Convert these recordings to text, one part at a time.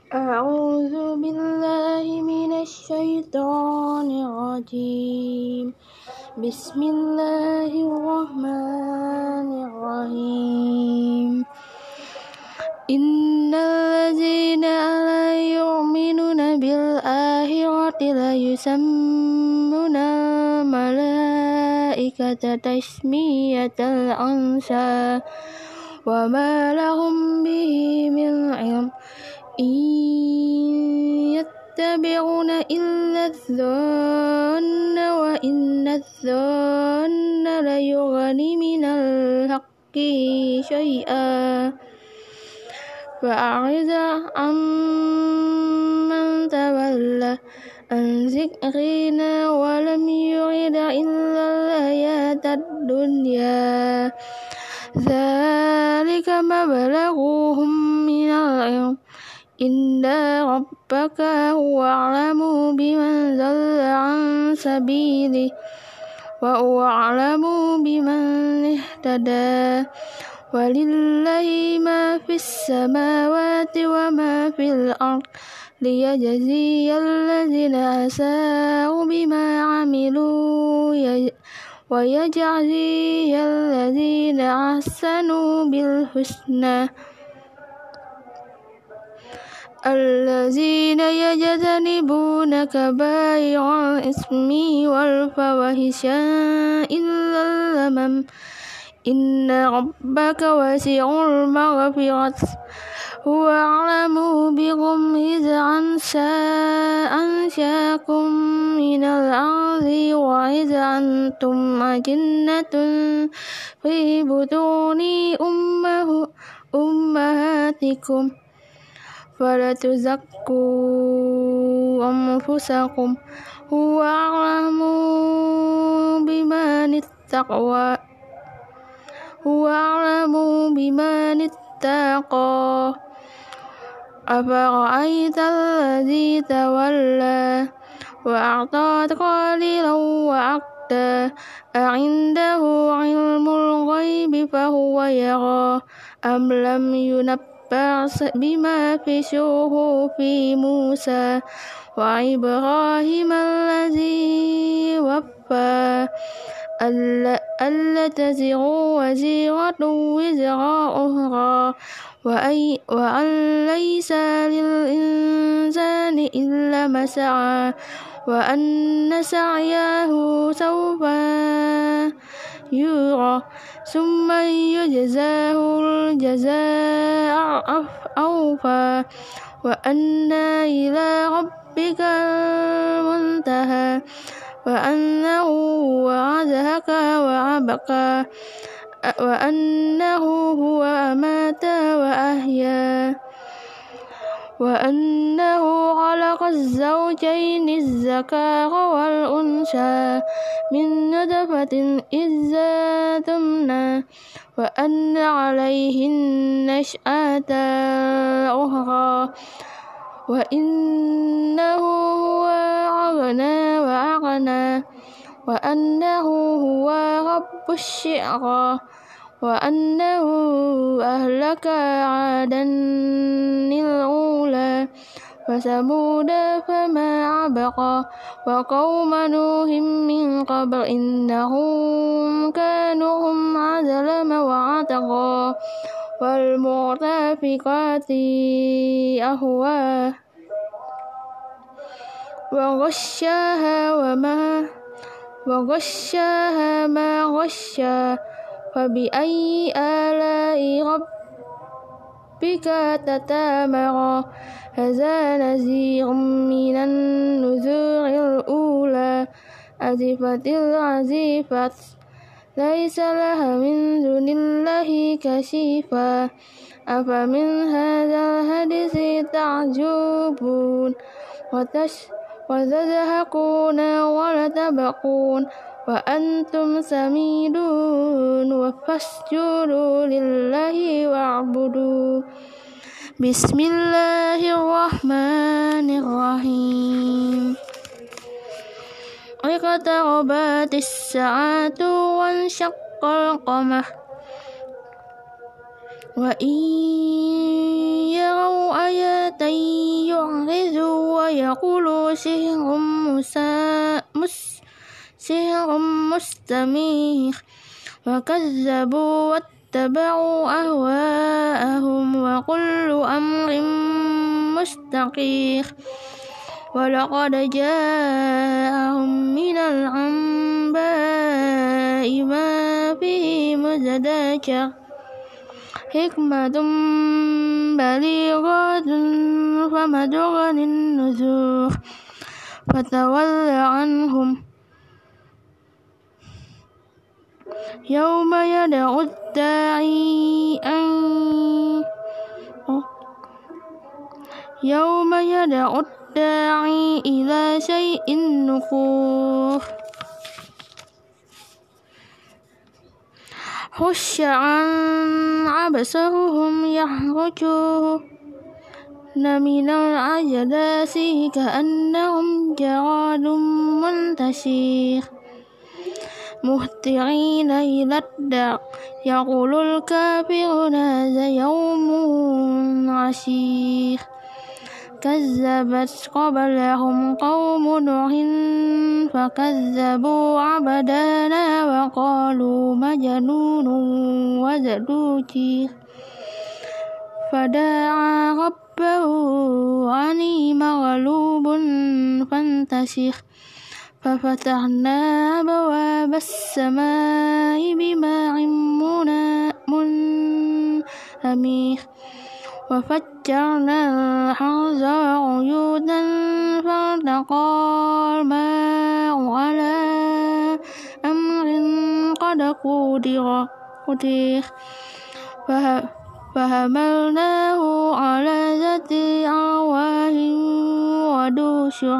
أعوذ بالله من الشيطان الرجيم. بسم الله الرحمن الرحيم. إن الذين لا يؤمنون بالآخرة لا يسمون الملائكة تسمية الأنثى وما لهم به من علم إن يتبعون إلا الظن وإن الظن لا يغني من الحق شيئا فأعرض عمن تولى عن ذكرنا ولم يرد إلا الحياة الدنيا ذلك مبلغهم من العلم إن ربك هو أعلم بمن ضل عن سبيله وهو أعلم بمن اهتدى ولله ما في السماوات وما في الأرض ليجزي الذين أساءوا بما عملوا ويجزي الذين أحسنوا بالحسنى الذين يجتنبون كبائر الإثم والفواحش إلا اللمم إن ربك واسع المغفرة هو أعلم بكم إذ أنشأكم من الأرض وإذ أنتم أجنة في بطون أمهاتكم فلا تزكوا أنفسكم هو أعلم بمن اتقى أفرأيت الذي تولى وأعطى قليلا وأكدى أعنده علم الغيب فهو يرى أم لم ينبأ بما في صحف موسى وإبراهيم الذي وفى ألا تزر وزيرة وزر أخرى وأن ليس للإنسان إلا ما سعى وأن سعيه سوف يرى ثم يجزاه الجزاء الأوفى وأن إلى ربك المنتهى وأنه هو أضحك وأبكى وأنه هو أمات وأحيا وأنه خلق الزوجين الذكر والأنثى من نطفة إذا تمنى وأن عليه النشأة الأخرى وإنه هو أغنى وأغنى وأنه هو رب الشعرى وأنه أهلك عادا الأولى وثمود فما أبقى وقوم نوح من قبل إنهم كانوا هم أظلم وأطغى والمؤتفكات أهوى وغشاها ما غشا فبأي آلاء ربك تتمارى هذا نذير من النذور الأولى أزفت العزيفة ليس لها من دون الله كشفا أفمن هذا الحديث تعجبون وتضحكون وتبكون وأنتم سميدون فاسجدوا لله واعبدوا بسم الله الرحمن الرحيم اقتربت الساعة وانشق القمر وإن يروا آية يقولوا سحر مستمر وكذبوا واتبعوا أهواءهم وكل أمر مستقر ولقد جاءهم من الأنباء ما فيه مزدجر حكمة بليغة فما تغني النذور فتول عنهم يوم يدعو الداعي إلى شيء نكور خش عن أبصارهم يخرجون من الأجداث كأنهم جراد منتشر مهطعين إلى الداع يقول الكافرون هذا يوم عسير كذبت قبلهم قوم نوح فكذبوا عبدنا وقالوا مجنون وازدجر فدعا ربه أني مغلوب فانتصر ففتحنا أبواب السماء بماء منهمر وفجرنا الأرض عيونا فالتقى الماء على أمر قد قدر فحملناه على ذات ألواح ودسر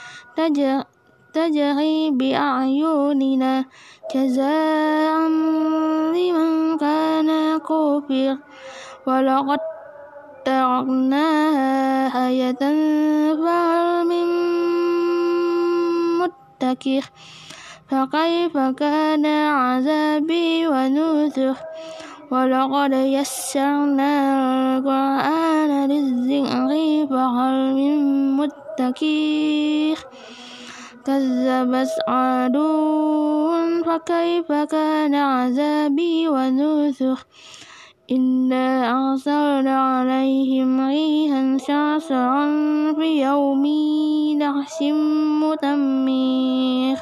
تجري بأعيننا جزاء لمن كان كفر ولقد تركناها آية فهل من مدكر فكيف كان عذابي ونذر ولقد يسرنا القرآن للذكر فهل من مدكر كذبت عاد فكيف كان عذابي ونذر إنا أرسلنا عليهم ريحا صرصرا في يوم نحس مدمر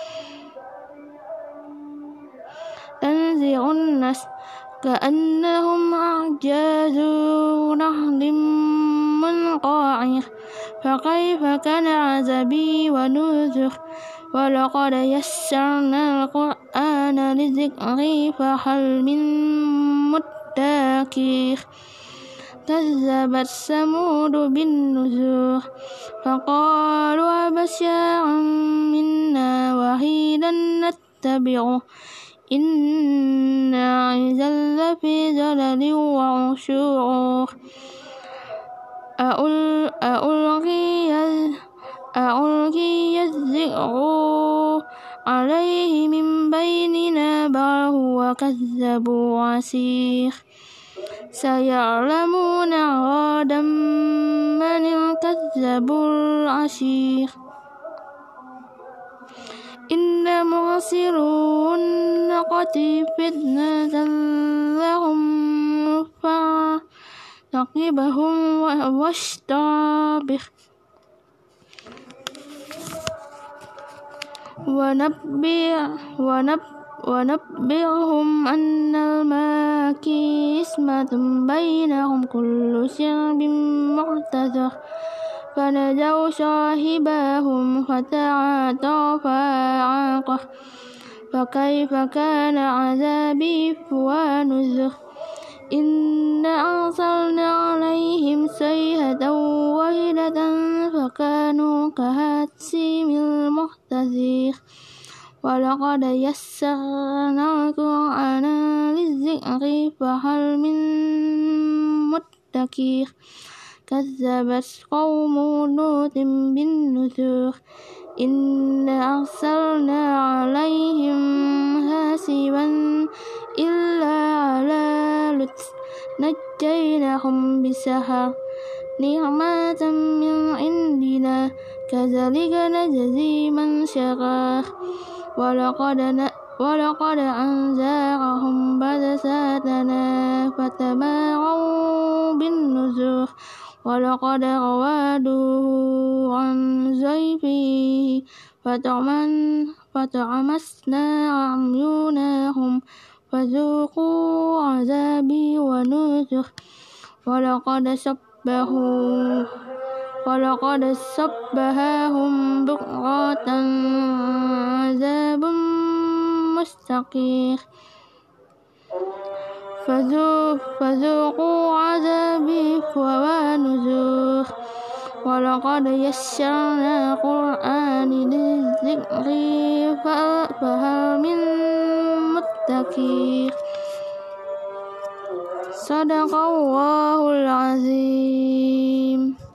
تنزع الناس كأنهم أعجاز نخل منقعر فكيف كان عذابي ونذر ولقد يسرنا القرآن للذكر فهل من مدكر كذبت ثمود بالنذر فقالوا أبشرا منا وحيدا نتبعه إنا إذا لفي ضلال وعسر أألقي الذكر عليه من بيننا بل هو كذاب عسير سيعلمون غدا من الكذاب العشير إن مرسلو الناقة فتنة لهم فارتقبهم واشتبه ونبئهم أن الماء قسمة بينهم كل شرب محتضر فنادوا صاحبهم فتعاطى فعقر فكيف كان عذابي ونذر إنا أرسلنا عليهم صيحة واحدة فكانوا كهشيم المحتضر ولقد يسرنا القرآن للذكر فهل من مدكر كذبت قوم لوط بالنذر إنا أرسلنا عليهم حاسبا إلا على لوط نجيناهم بسحر نعمة من عندنا كذلك نجزي من شكر ولقد أنذرهم بأسنا فتماروا بالنذر ولقد راودوه عن ضيفه فتعمسنا أعينهم فذوقوا عذابي ونذر ولقد صبحهم بكرة عذاب مستقيم فذوقوا عذابي ونذر ولقد يسرنا القرآن للذكر فهل من مدكر صدق الله العظيم.